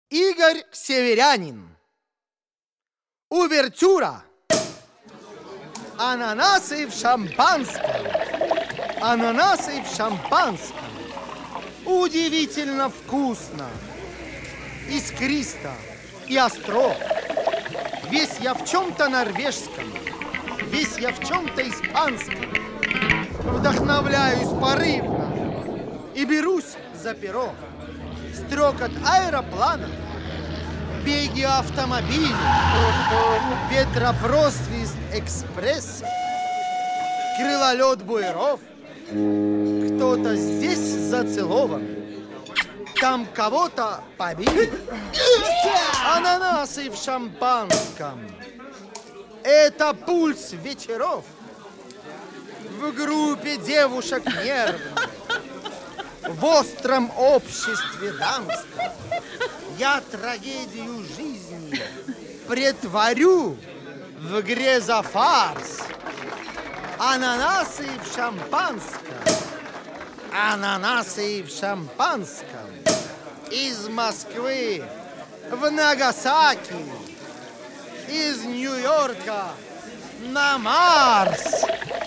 Игорь Северянин. Увертюра. Ананасы в шампанском. Ананасы в шампанском. Удивительно вкусно, искристо и остро. Весь я в чем-то норвежском, весь я в чем-то испанском. Вдохновляюсь порывно и берусь за перо. Стрекот аэропланов, беги автомобилей, ветропросвист экспресса, крылолет буеров. Кто-то здесь зацелован, там кого-то побили. Ананасы в шампанском. Это пульс вечеров. В группе девушек нервных, в остром обществе дамском. Я трагедию жизни претворю в грезофарс. Ананасы в шампанском. Ананасы в шампанском. Из Москвы в Нагасаки. Из Нью-Йорка на Марс.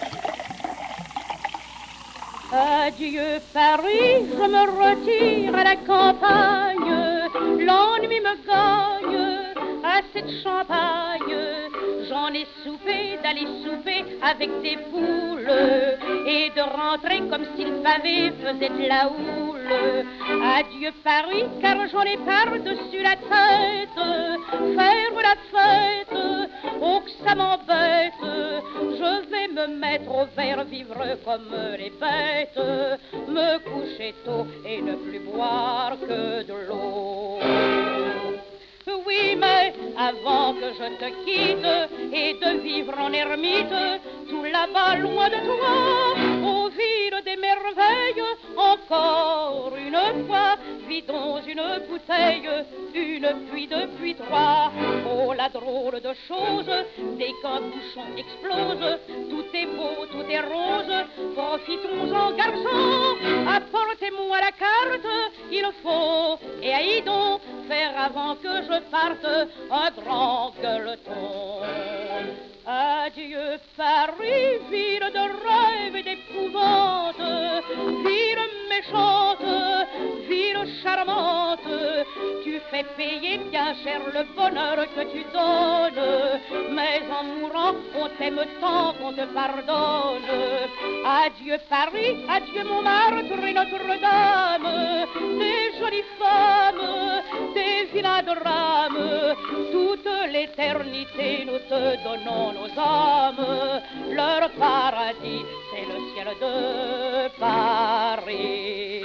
Adieu Paris, je me retire à la campagne. L'ennui me gagne, assez de champagne. J'en ai soupé d'aller souper avec des poules et de rentrer comme si le pavé faisait de la houle. Adieu Paris, car j'en ai par-dessus la tête. Faire la fête, oh que ça m'embête. Je vais me mettre au vert, vivre comme les bêtes, me coucher tôt et ne plus boire que de l'eau. Oui, mais avant que je te quitte et de vivre en ermite, tout là-bas loin de toi, aux villes des merveilles, encore une fois, vidons une bouteille, une puis deux puis trois. Oh, la drôle de chose, dès qu'un bouchon explose, tout est beau, tout est rose, profitons-en garçons, apportez-moi la carte, il faut, et aïe donc, faire avant que je parte un grand gueuleton. Adieu Paris, ville de rêve et d'épouvante, ville méchante, ville charmante. Tu fais payer bien cher le bonheur que tu donnes, mais en mourant, on t'aime tant qu'on te pardonne. Adieu Paris, adieu Montmartre et Notre-Dame, des jolies femmes, des vilains drames, toute l'éternité nous te donnons nos âmes, leur paradis, c'est le ciel de Paris.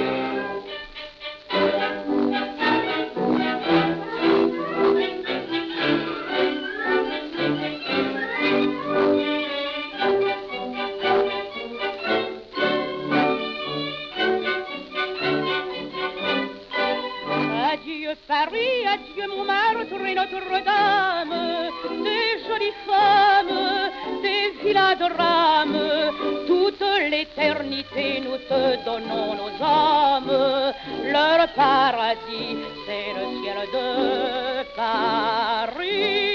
Adieu Paris, adieu Montmartre et Notre-Dame, des jolies femmes, des vilains drames, toute l'éternité nous te donnons nos âmes, leur paradis c'est le ciel de Paris.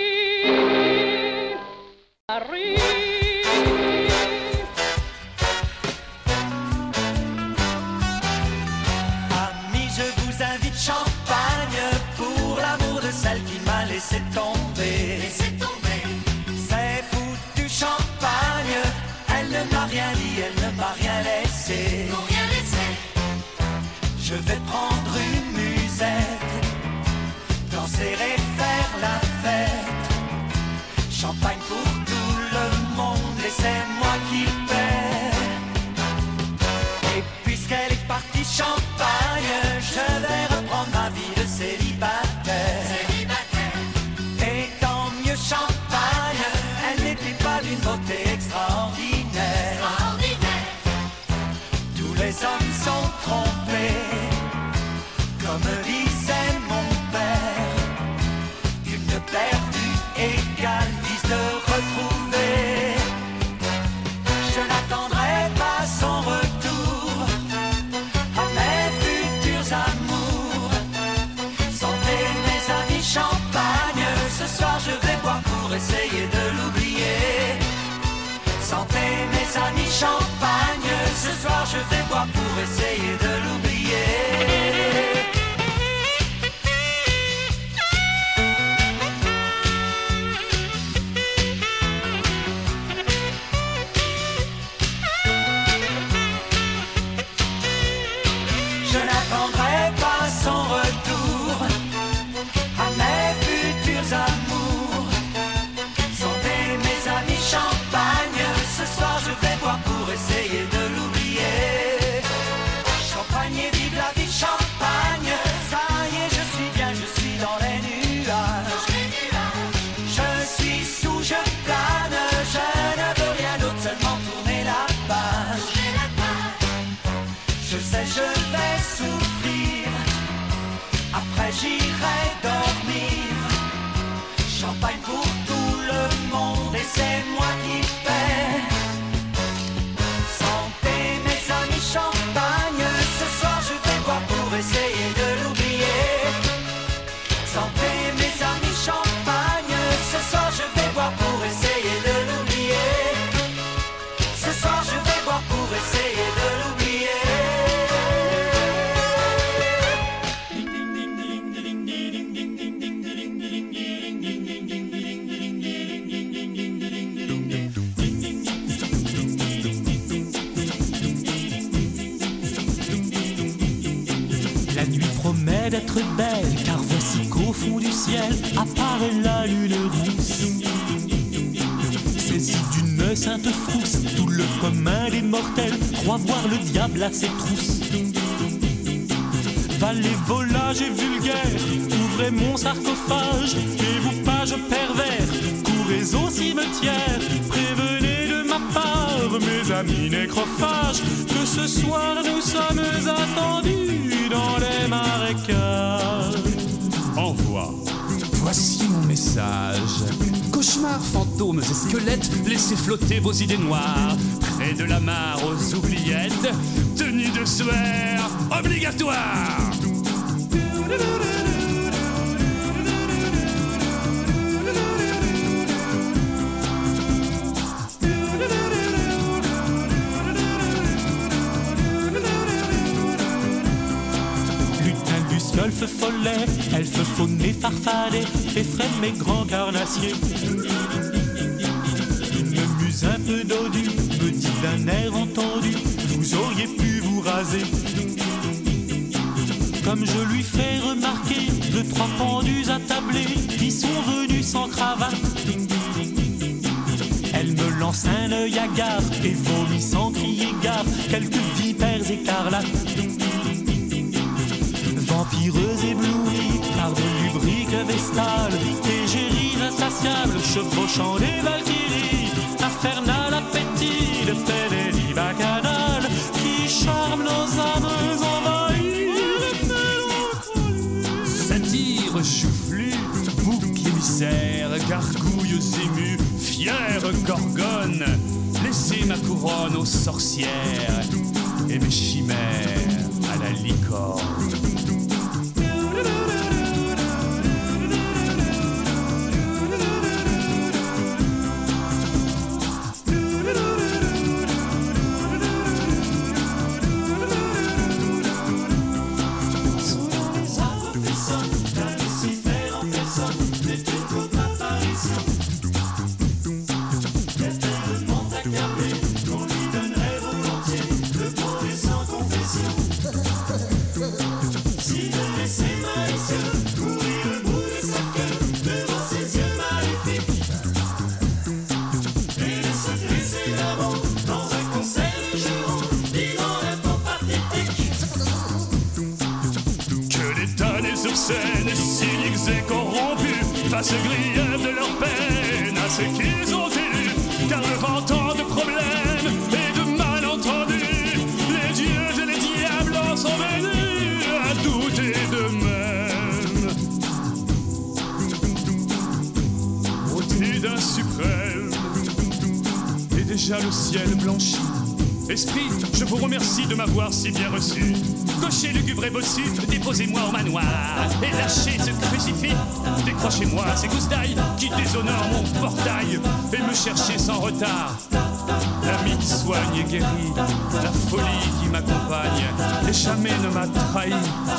Paris. Celle qui m'a laissé tomber. C'est foutu champagne. Elle ne m'a rien dit, elle ne m'a rien laissé. Je vais prendre une musette, danser et faire la fête. Champagne pour tout le monde et c'est moi qui paie. Et puisqu'elle est partie champagne, je vais reprendre ma vie de célibataire. Champagne, elle n'était pas d'une beauté extraordinaire. Tous les hommes sont trompés, comme disait mon père. Une perdue égale 10 de retrouver. Je n'attendrai pas son retour à mes futurs amours. Santé champagne. Ce soir je vais boire pour essayer de l'oublier. Je n'attendrai pas son retour à mes futurs amours. Santé mes amis, champagne. Ce soir je vais boire pour essayer de l'oublier. Champagne et vive la vie, champagne. Ça y est, je suis bien, je suis dans les nuages. Je suis sous, je plane. Je ne veux rien d'autre, seulement tourner la page. Je sais, je vais souffrir. Après j'irai dormir. Champagne pour tout le monde et c'est moi qui paie. Santé mes amis, champagne. Ce soir je vais boire pour essayer de l'oublier. Santé mes amis, champagne. Ce soir je vais boire pour essayer de l'oublier. Ce soir je vais boire pour essayer de l'oublier. La nuit promet d'être belle, car voici qu'au fond du ciel apparaît la lune rousse. Saisi d'une sainte frousse, tout le commun des mortels croit voir le diable à ses trousses. Valets, volages et vulgaires, ouvrez mon sarcophage, et vous pages pervers, courez au cimetière, prévenez de ma part, mes amis nécrophages, que ce soir nous sommes attendus dans les marécages. Envoie. Voici mon message. Cauchemars, fantômes et squelettes, laissez flotter vos idées noires. Près de la mare aux oubliettes, tenue de suaire obligatoire. Golfe follet, elfe faune farfadet, effraie mes grands carnassiers. Une muse un peu dodue me dit d'un air entendu, vous auriez pu vous raser. Comme je lui fais remarquer deux, trois pendus attablés qui sont venus sans cravate. Elle me lance un œil hagard et vomit sans crier gare quelques vipères écarlates. Vampireuses éblouies par de lubriques vestales, égéries insatiables chevauchant les valkyries, infernal appétit de fédérie bacchanale qui charme nos âmes envahies. Satyre joufflue, bouc émissaire, gargouilles émues, fière gorgone, laissez ma couronne aux sorcières et mes chimères à la licorne. Cyniques et corrompus face aux griefs de leur peine, à ce qu'ils ont élus, car devant tant de problèmes et de malentendus, les dieux et les diables en sont venus à douter d'eux-mêmes. Au-dessus d'un suprême, et déjà le ciel blanchit, Esprit, je vous remercie de m'avoir si bien reçu. Cocher lugubre et bossu, déposez-moi au manoir et lâchez ce crucifix. Décrochez-moi ces gousses d'ail qui déshonorent mon portail et me cherchez sans retard. L'ami qui soigne et guérit, la folie qui m'accompagne et jamais ne m'a trahi.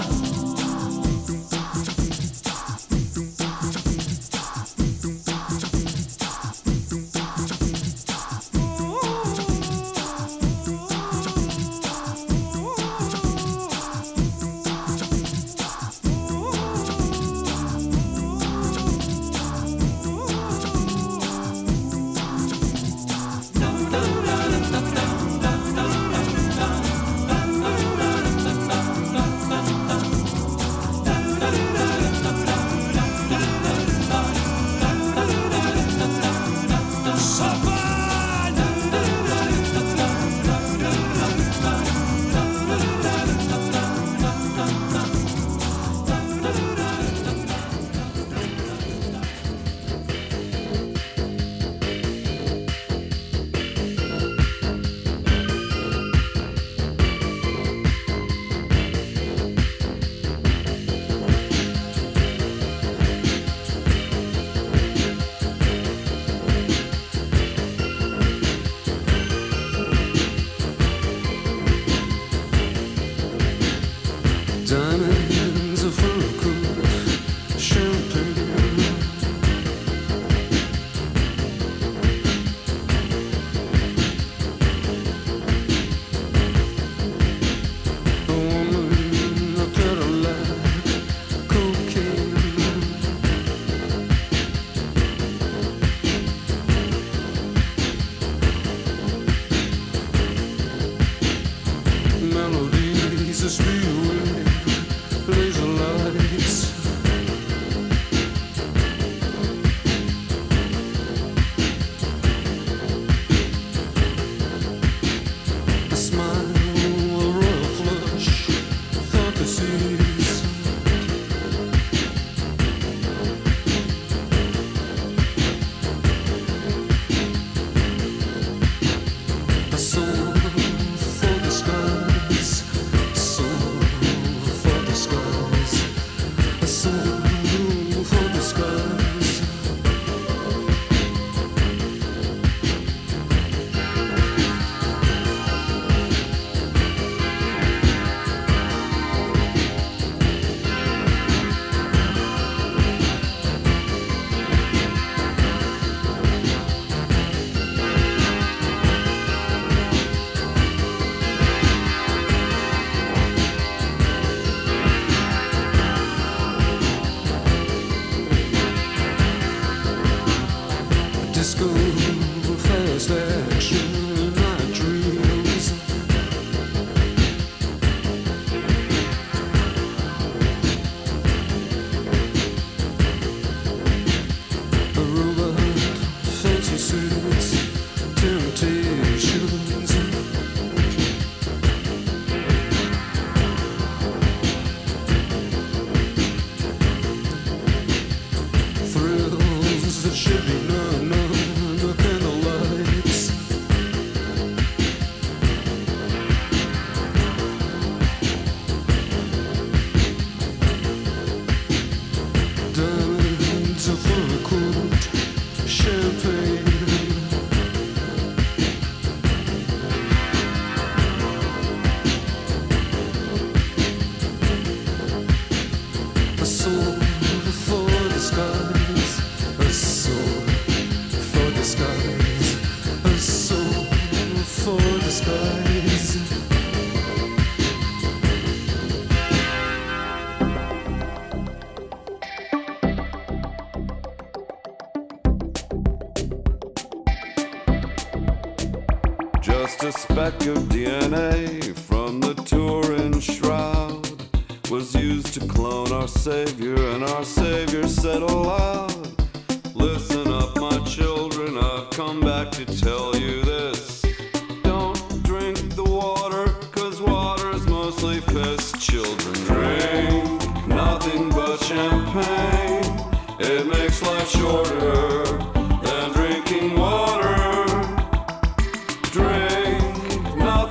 Just a speck of DNA from the Turin shroud was used to clone our Savior, and our Savior said aloud, "Listen up, my children, I've come back to tell you this. Don't drink the water, 'cause water's mostly piss. Children, drink nothing but champagne. It makes life shorter than drinking water. Drink nothing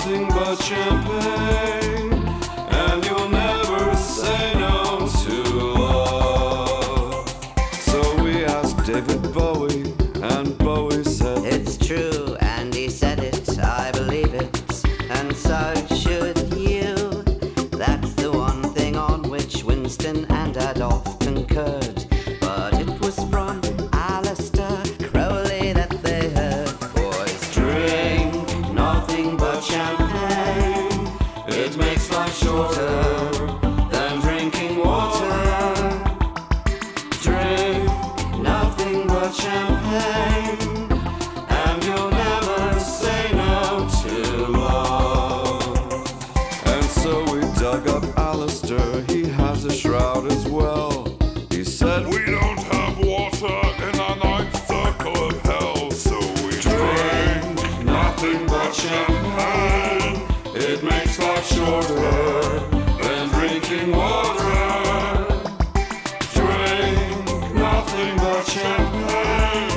David Bowie, and Bowie said, "It's true," and he said it, I believe it, and so should you. That's the one thing on which Winston and Adolf concurred. But it was from Alistair Crowley that they heard. Boys, drink nothing but champagne. It makes life shorter than drinking water. Drink nothing but champagne, and you'll never say no to love. and so we dug up Alistair, he has a shroud as well. He said, We don't have water in our ninth circle of hell, so we drink nothing but champagne. It makes life shorter than drinking water. Drink nothing but champagne.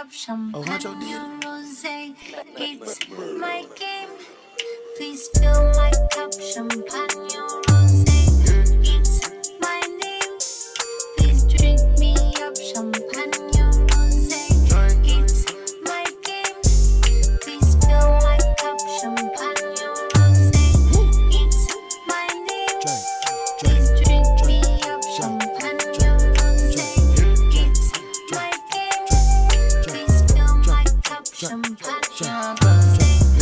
up champagne or rosé. It's my game. Please fill my cup, champagne or rosé. It's my name. Please drink me up, champagne or rosé. It's my game. Please fill my cup, champagne or rosé. It's my name. Please drink me up, champagne or rosé. It's my game. Please fill my cup, champagne or rosé.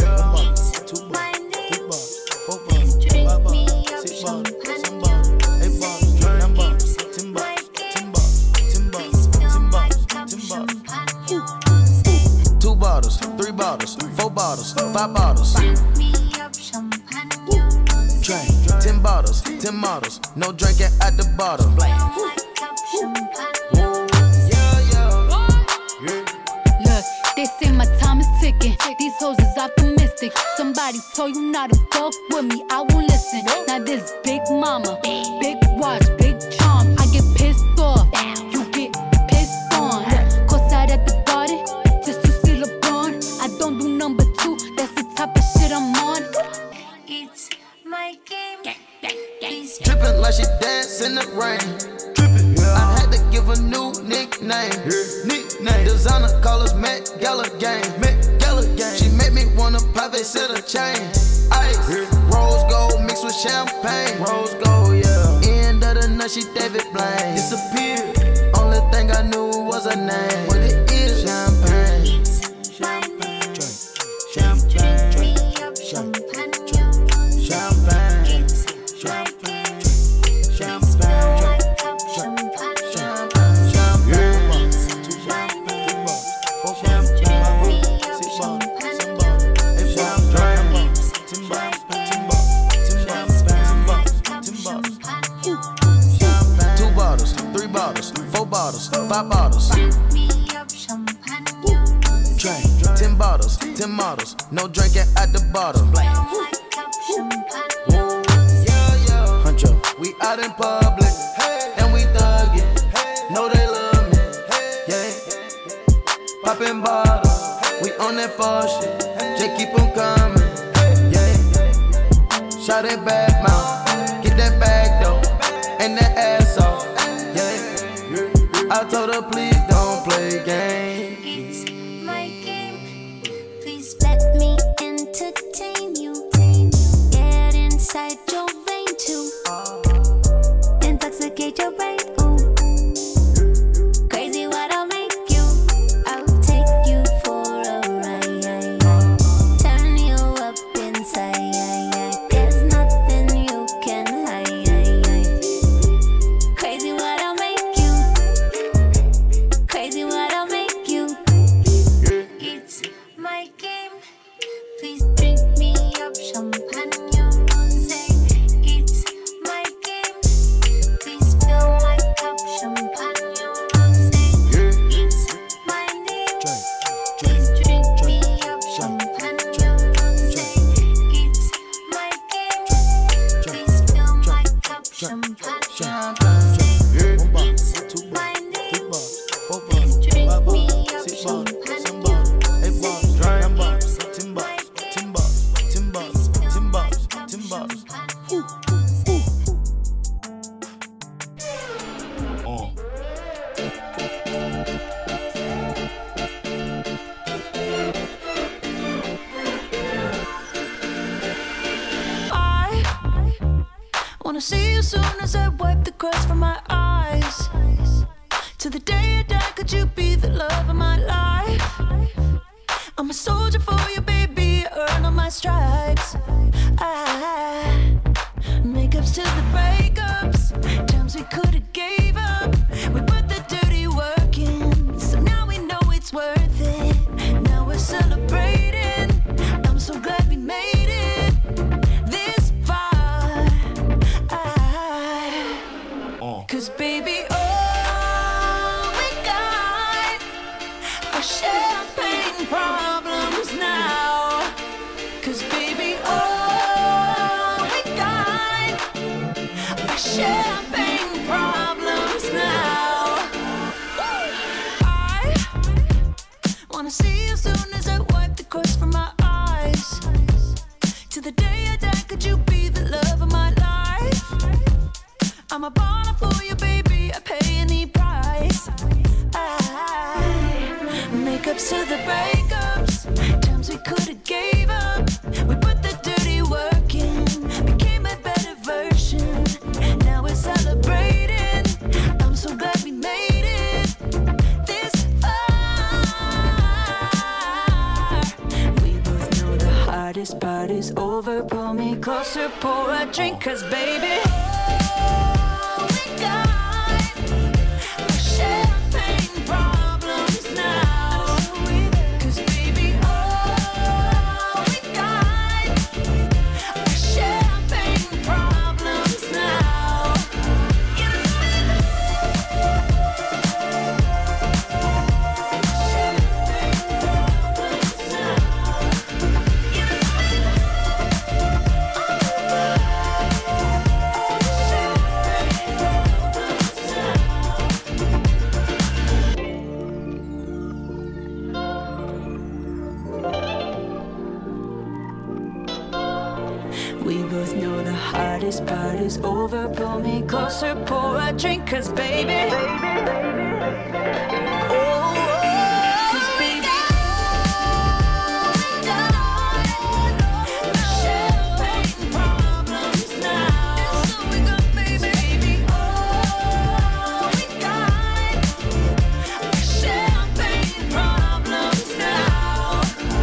Bottles, 5 bottles. Drink 10 bottles, 10 models. No drinking at the bottom. Look, they say my time is ticking. These hoes is optimistic. Somebody told you not to fuck with me, I won't listen. Now this big mama, big watch, big charm. I get pissed off, you get pissed on. Look, courtside at the garden, just to see LeBron. I don't do number 2, that's the type of shit I'm on. It's my game. Drippin' like she dance in the rain. Drippin', yeah. I had to give a new nickname. Designer call us Met Gala Gang. She made me wanna private set a chain. Ice, rose gold mixed with champagne. Rose gold, yeah. End of the night, she David Blaine. Disappeared. Only thing I knew was her name. What it is, champagne. Champagne. Champagne. Champagne. Champagne. Champagne. Bottles, 5 bottles. Drink 10 bottles, 10 models. No drinking at the bottom. Huncho, we out in public, and we thuggin'. Know they love me, yeah. Poppin' bottles, we on that fuck shit. Just keep 'em coming, yeah. Shot it back mouth, get that bag though, and that ass off. I told her please don't play games. It's my game. Please let me entertain you. Get inside your vein too. Intoxicate your brain. Ooh. Crazy what I'll make you. I'll take you for a ride. Turn you up inside. There's nothing you can hide. Crazy what I'll make you. Crazy what I'll make you. It's my game. Please drink me up, champagne or rosé. It's my game. Please fill my cup, champagne or rosé. It's my name. Please drink me up, champagne or rosé. It's my game. Please fill my cup, champagne or rosé. It's my name. Please drink me up, champagne or rosé. I wanna see you soon as I wipe the crust from my eyes. To the day I die, could you be the love of my life? I'm a soldier for you, baby, earn all my stripes. Makeups to the breakups, times we could've gave up. We put the dirty work in, so now we know it's worth it. Now we're celebrating, I'm so glad we made it this far. 'Cause baby, all we got are champagne problems now. 'Cause baby, all we got are champagne problems. wanna see you soon as I wipe the crust from my eyes. To the day I die, could you be the love of my life? I'm a baller for you, baby, I pay any price. Makeups to the breakups, times we could've gave up. We put the dirty work in, became a better version. Now we're celebrating, I'm so glad we made it this far. We both know the hardest part is over. Pull me closer, pour a drink, 'cause baby, all we got are champagne problems now. 'Cause baby, all we got are champagne problems now. We both know the hardest part is over. Pull me closer, pour a drink, 'cause baby, oh, 'cause baby, champagne problems now. That's all we got, baby. All we got are champagne problems now.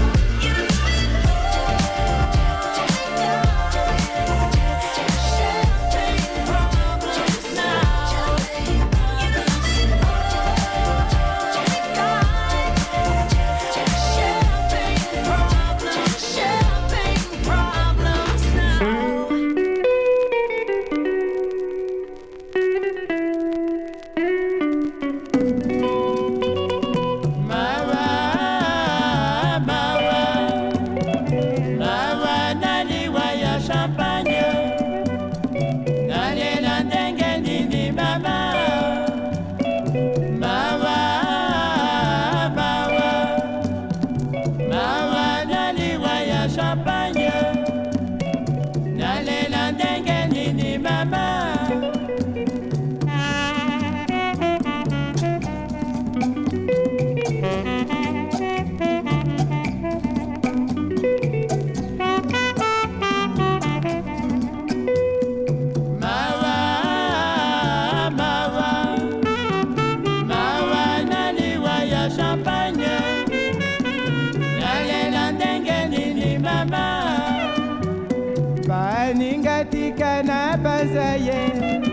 Baningatika na bazaye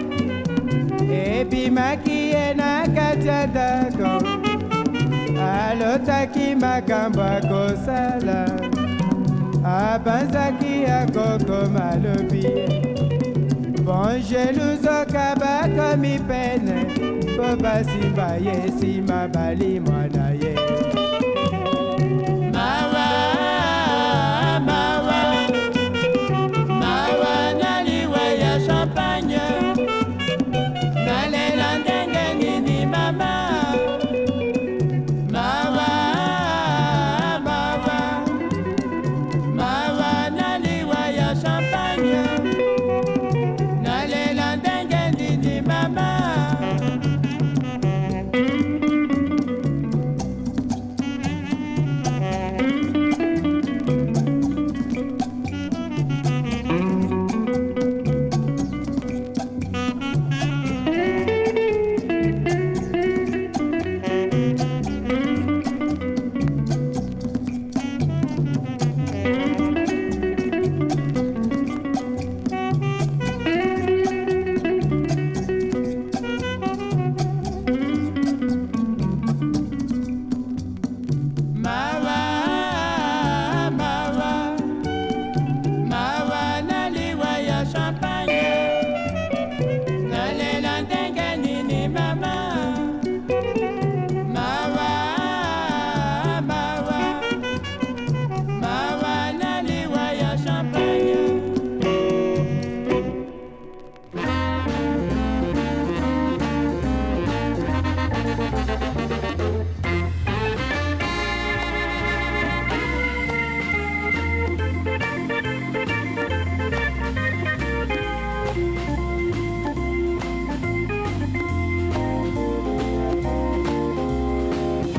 Epi makie na katiadako Alotaki makamba kosala Abanzaki akoko malobi Bon jeluzo kabako mi pene Boba simba ye sima bali mwana ye Mawa, mawa champagne, nalela ndenge nini mama, mawa, mawa, mawa naliwa ya champagne, nalela ndenge nini mama.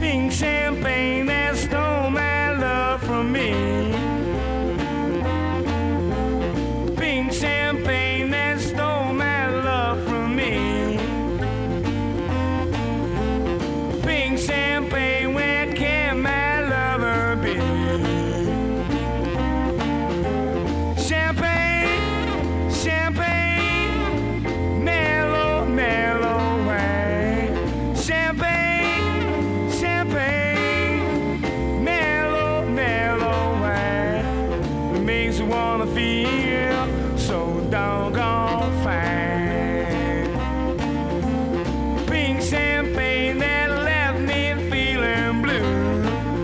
Pink champagne that stole my love from me. Pink champagne that stole my love from me. Pink champagne, where can my lover be? Champagne, champagne, mellow, mellow wine. Champagne, champagne, mellow, mellow wine. It makes you wanna feel so doggone fine. Pink champagne that left me feeling blue.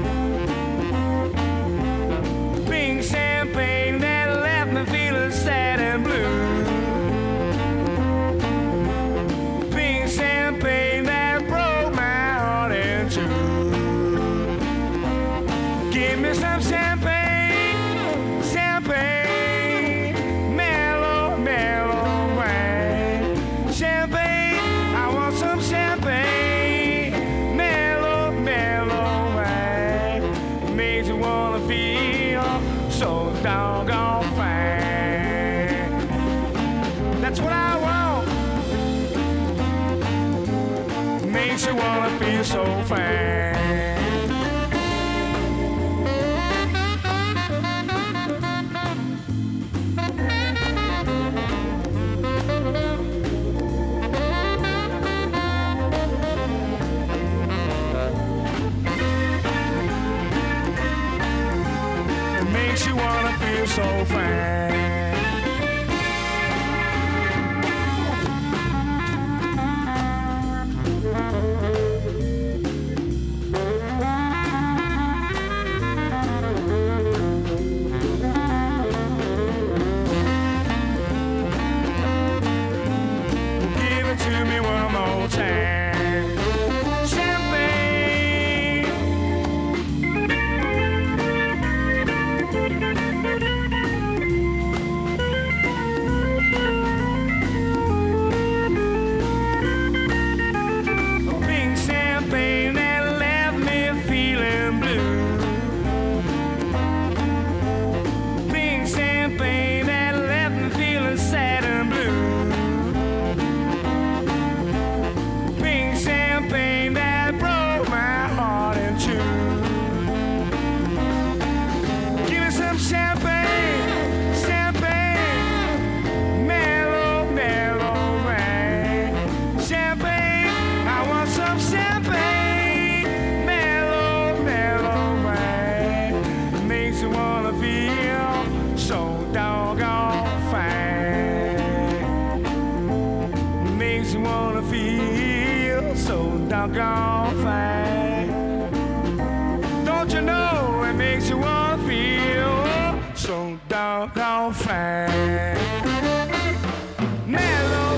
Pink champagne that left me feeling sad and blue. Pink champagne that broke my heart in two. Give me some champagne, champagne, mellow, mellow wine. Champagne, I want some champagne, mellow, mellow wine. Makes you wanna feel so doggone fine. That's what I want. Makes you wanna feel so fine. It makes you wanna feel so fine. Give it to me one more time. Champagne. Pink champagne that left me feeling blue. Pink champagne that left me feeling sad and blue. Pink champagne that broke my heart in two. Give me some champagne, champagne, mellow, mellow wine. Champagne, I want some champagne, mellow, mellow wine. Makes you wanna feel so doggone fine. Makes you wanna feel so doggone fine. Don't you know it makes you wanna feel so doggone fine? Mellow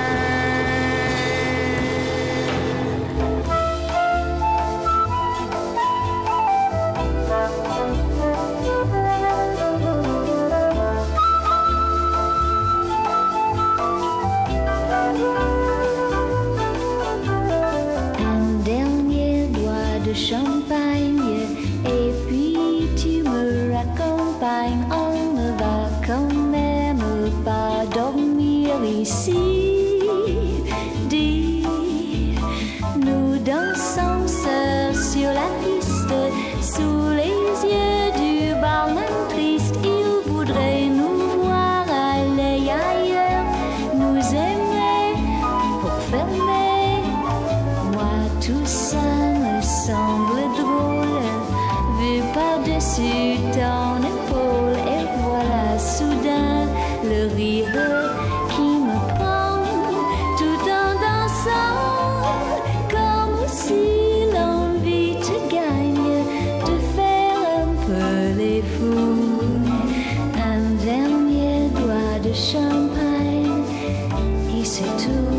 Un dernier doigt de champagne et puis tu me raccompagnes. On ne va quand même pas dormir ici. Dis, nous dansons seuls sur la piste sous les yeux du barman triste. Il voudrait nous voir aller ailleurs, nous aimer pour fermer. Moi tout ça me semble drôle, vu par-dessus ton épaule. Et voilà soudain le rire qui me prend tout en dansant, comme si l'envie te gagne de faire un peu les fous. Un dernier doigt de champagne et c'est tout.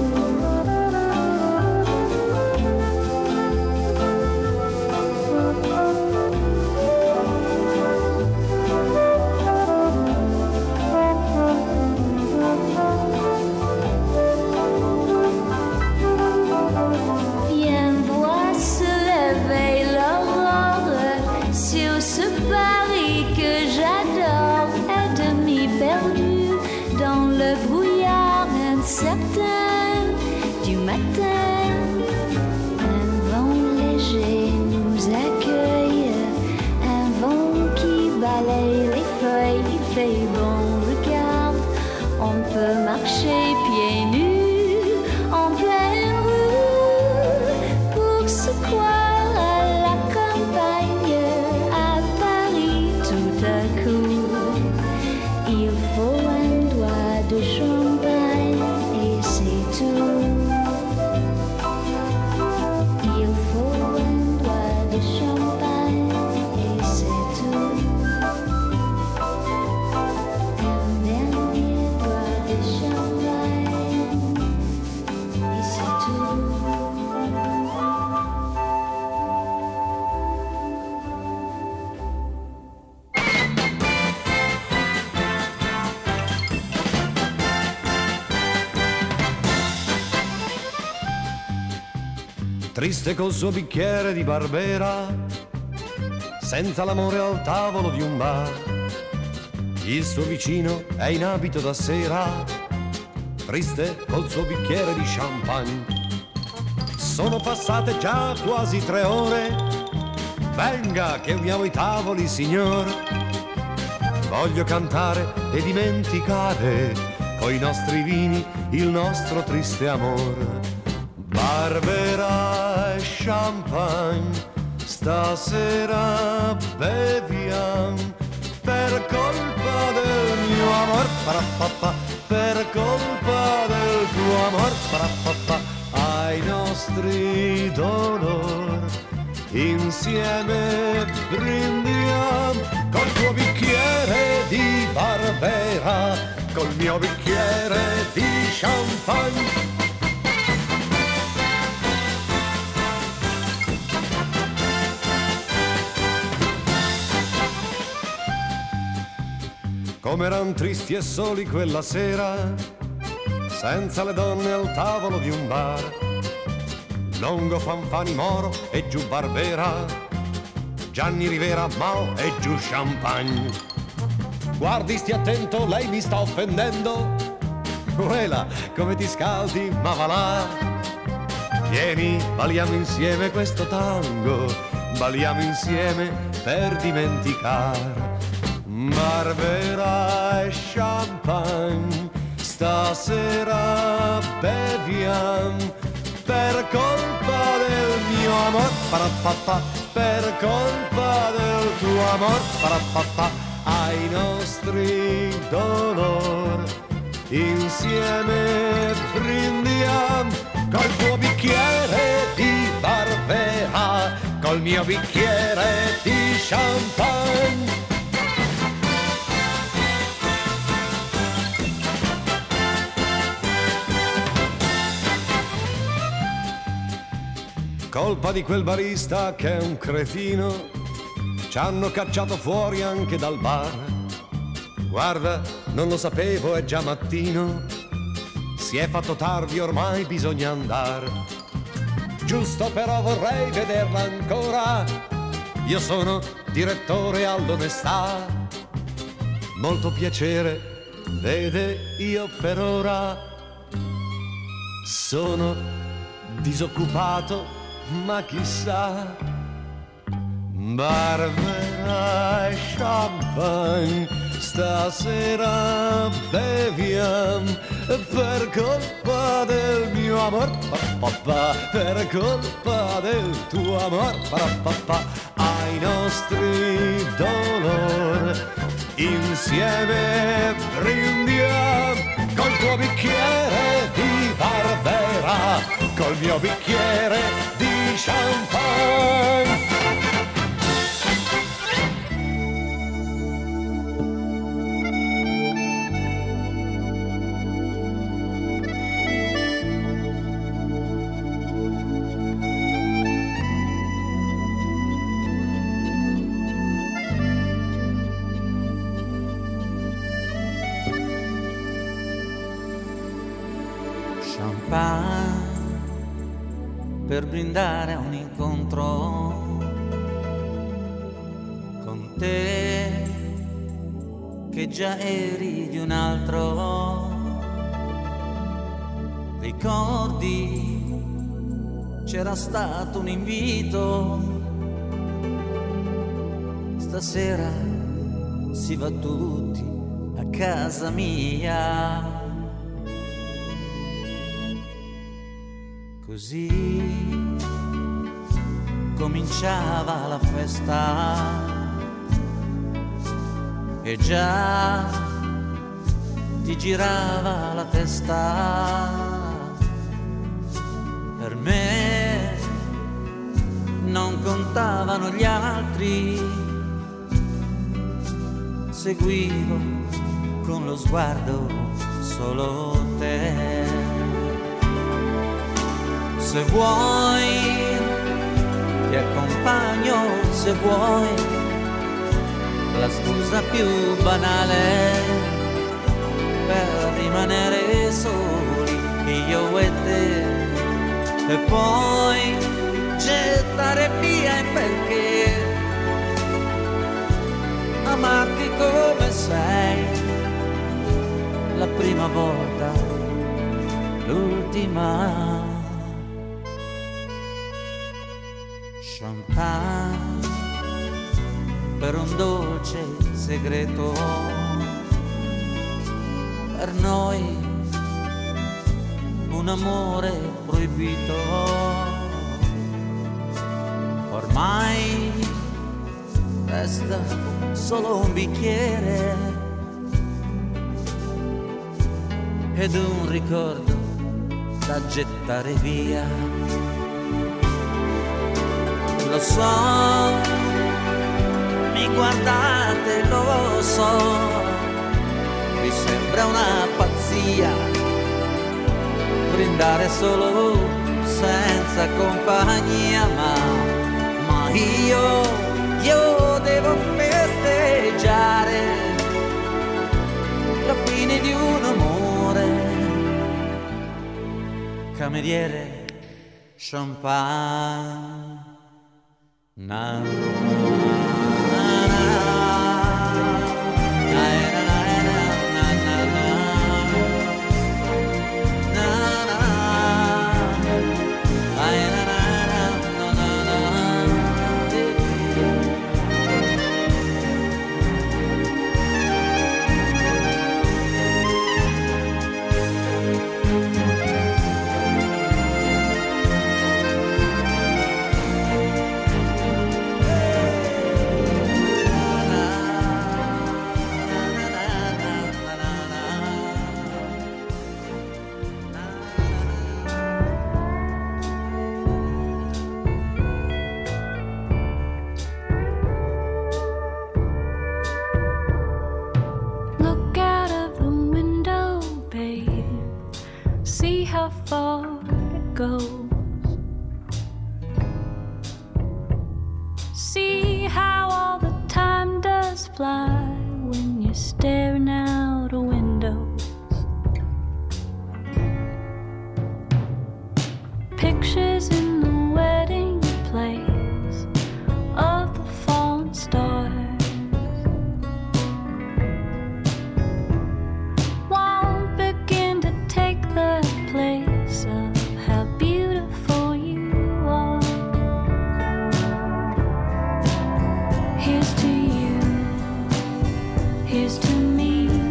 triste col suo bicchiere di Barbera, senza l'amore al tavolo di un bar. Il suo vicino è in abito da sera, triste col suo bicchiere di champagne. Sono passate già quasi 3 ore, venga che uniamo i tavoli, signor. Voglio cantare e dimenticare coi nostri vini il nostro triste amor. Barbera e champagne, stasera beviam per colpa del mio amor, parapapà, per colpa del tuo amor, parapapà, ai nostri dolor insieme brindiam col tuo bicchiere di Barbera, col mio bicchiere di champagne. Com'eran tristi e soli quella sera, senza le donne al tavolo di un bar. Longo, Fanfani, Moro e giù Barbera, Gianni Rivera, Mao e giù champagne. Guardi, stia attento, lei mi sta offendendo. Uela, come ti scaldi, ma va là. Vieni, balliamo insieme questo tango, balliamo insieme per dimenticare. Barbera e champagne, stasera beviam per colpa del mio amor, parapapà, per colpa del tuo amor, parapapà, ai nostri dolor insieme brindiam col tuo bicchiere di Barbera, col mio bicchiere di champagne. Colpa di quel barista che è un cretino, ci hanno cacciato fuori anche dal bar. Guarda, non lo sapevo, è già mattino, si è fatto tardi, ormai bisogna andare. Giusto però vorrei vederla ancora, io sono direttore all'onestà. Molto piacere, vede, io per ora sono disoccupato, ma chissà. Barbera e champagne, stasera beviam per colpa del mio amor, papà, per colpa del tuo amor, papà, ai nostri dolor insieme brindiam col tuo bicchiere di Barbera, col mio bicchiere di champagne. Per brindare a un incontro con te, che già eri di un altro. Ricordi, c'era stato un invito, stasera si va tutti a casa mia. Così cominciava la festa e già ti girava la testa. Per me non contavano gli altri, seguivo con lo sguardo solo te. Se vuoi ti accompagno, se vuoi, la scusa più banale per rimanere soli, io e te. E poi gettare via, e perché amarti come sei, la prima volta, l'ultima. Champagne per un dolce segreto, per noi un amore proibito. Ormai resta solo un bicchiere ed un ricordo da gettare via. Lo so, mi guardate, lo so, vi sembra una pazzia brindare solo senza compagnia, ma io devo festeggiare la fine di un amore. Cameriere, champagne. Na, na, na, Here's to me.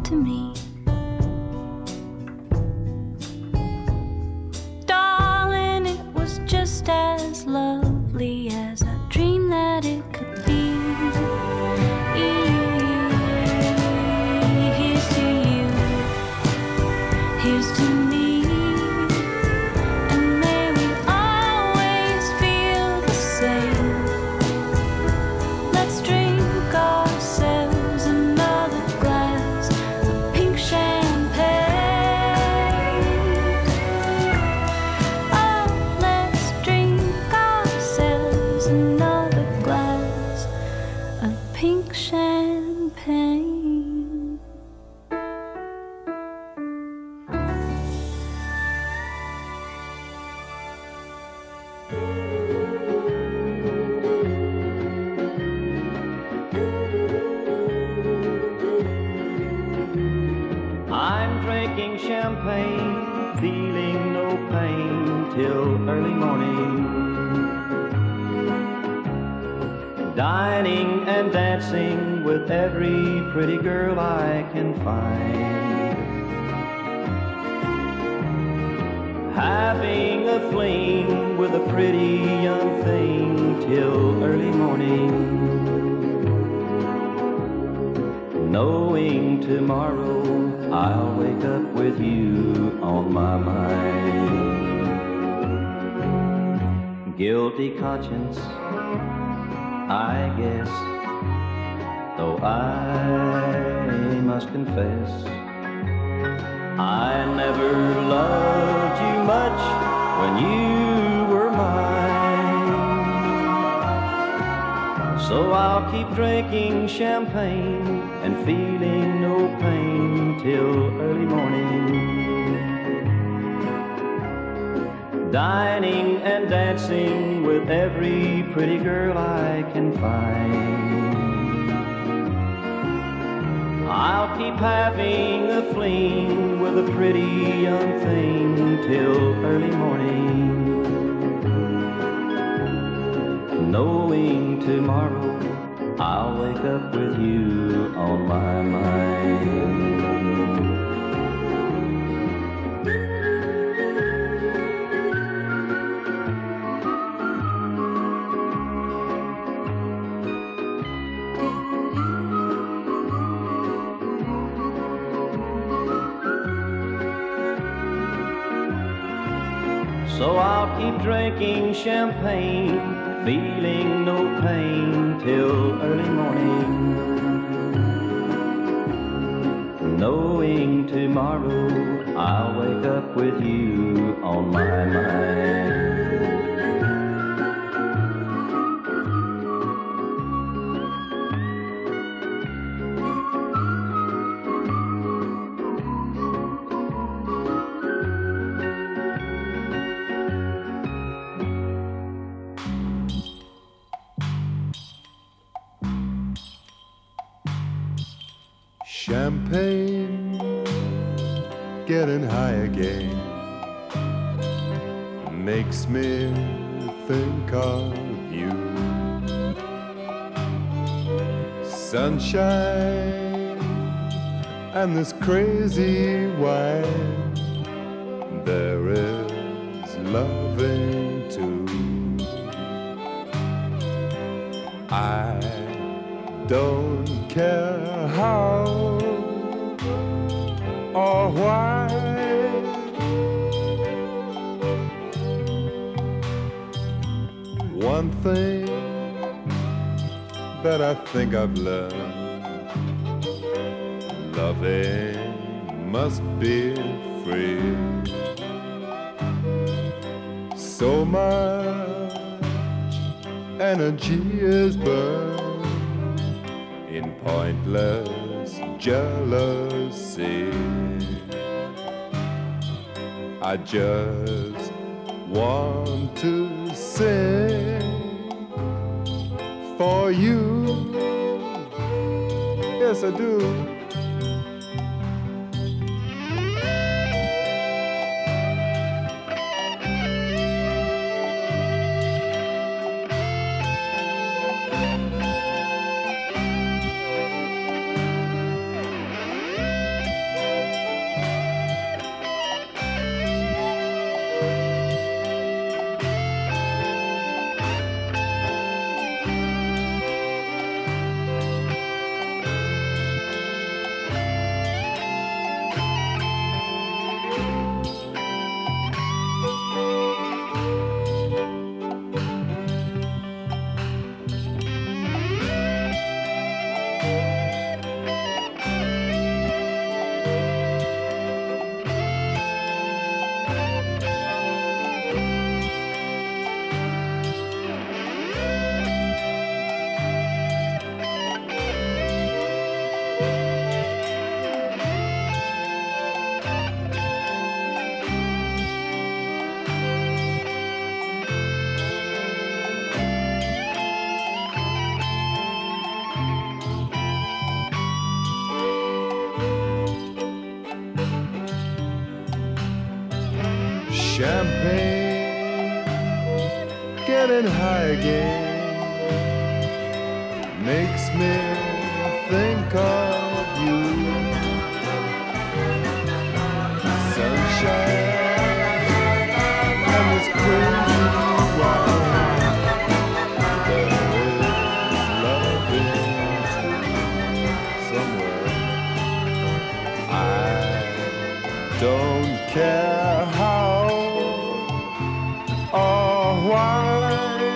to me. Darling, it was just as lovely as I dreamed that it could be. Here's to you, here's to me. Dining and dancing with every pretty girl I can find. Having a fling with a pretty young thing till early morning. Knowing tomorrow I'll wake up with you on my mind. Guilty conscience, I guess, though I must confess, I never loved you much when you were mine. So I'll keep drinking champagne and feeling no pain till early morning. Dining and dancing with every pretty girl I can find. I'll keep having a fling with a pretty young thing till early morning. Knowing tomorrow I'll wake up with you on my mind. So I'll keep drinking champagne, feeling no pain till early morning. Knowing tomorrow I'll wake up with you on my mind. Champagne, getting high again, makes me think of you. Sunshine and this crazy wine, there is loving too. I don't care how or why. One thing that I think I've learned, loving must be free. So much energy is burned in pointless jealousy. I just want to sing for you. Yes, I do. Champagne, getting high again, makes me think of you. Sunshine and this crazy wine. There is love in somewhere. I don't care how or why,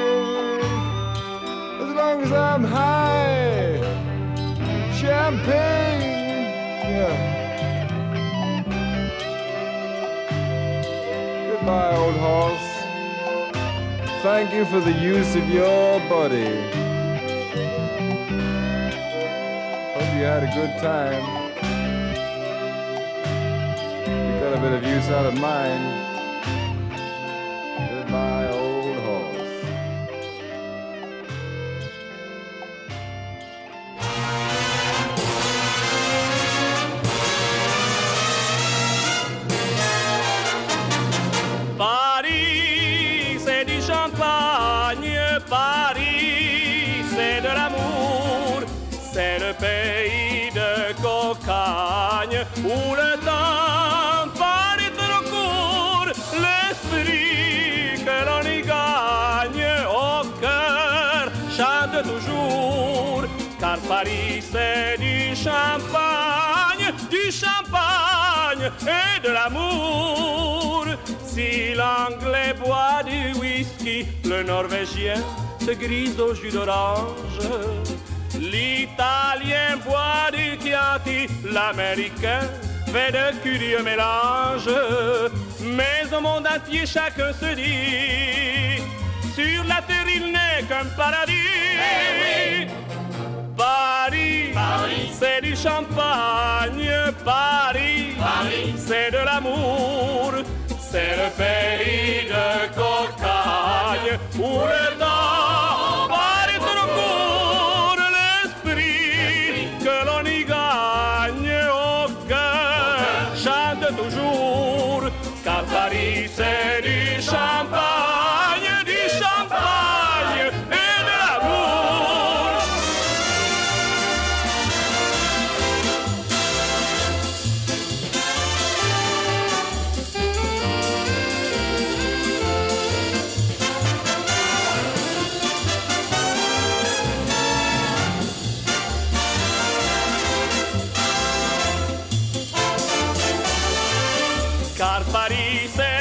as long as I'm high. Champagne, yeah. Goodbye, old horse. Thank you for the use of your body. Hope you had a good time. You got a bit of use out of mine. Goodbye, old horse. Paris, c'est du champagne. Paris, c'est de l'amour. C'est le pays de cocagne où le temps paraît trop court. L'esprit que l'on y gagne au cœur chante toujours. Car Paris, c'est du champagne et de l'amour. Si l'anglais boit du whisky, le norvégien se grise au jus d'orange. L'italien boit du Chianti, l'américain fait de curieux mélanges. Mais au monde entier, chacun se dit, sur la terre il n'est qu'un paradis. Hey, oui. Paris, c'est du champagne. Paris, c'est de l'amour. C'est le pays de cocagne où le temps paraît trop court. L'esprit que l'on y gagne au cœur chante toujours. Car Paris, c'est du champagne et de l'amour. Car Paris, c'est